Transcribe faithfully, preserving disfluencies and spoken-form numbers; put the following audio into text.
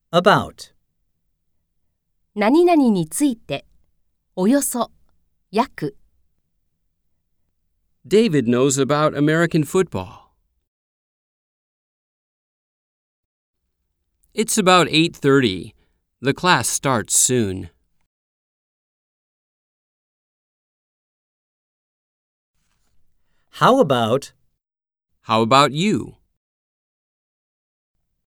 about. 何々について、およそ、約。 David knows about American football. It's about eight thirty. The class starts soon. How about? How about you?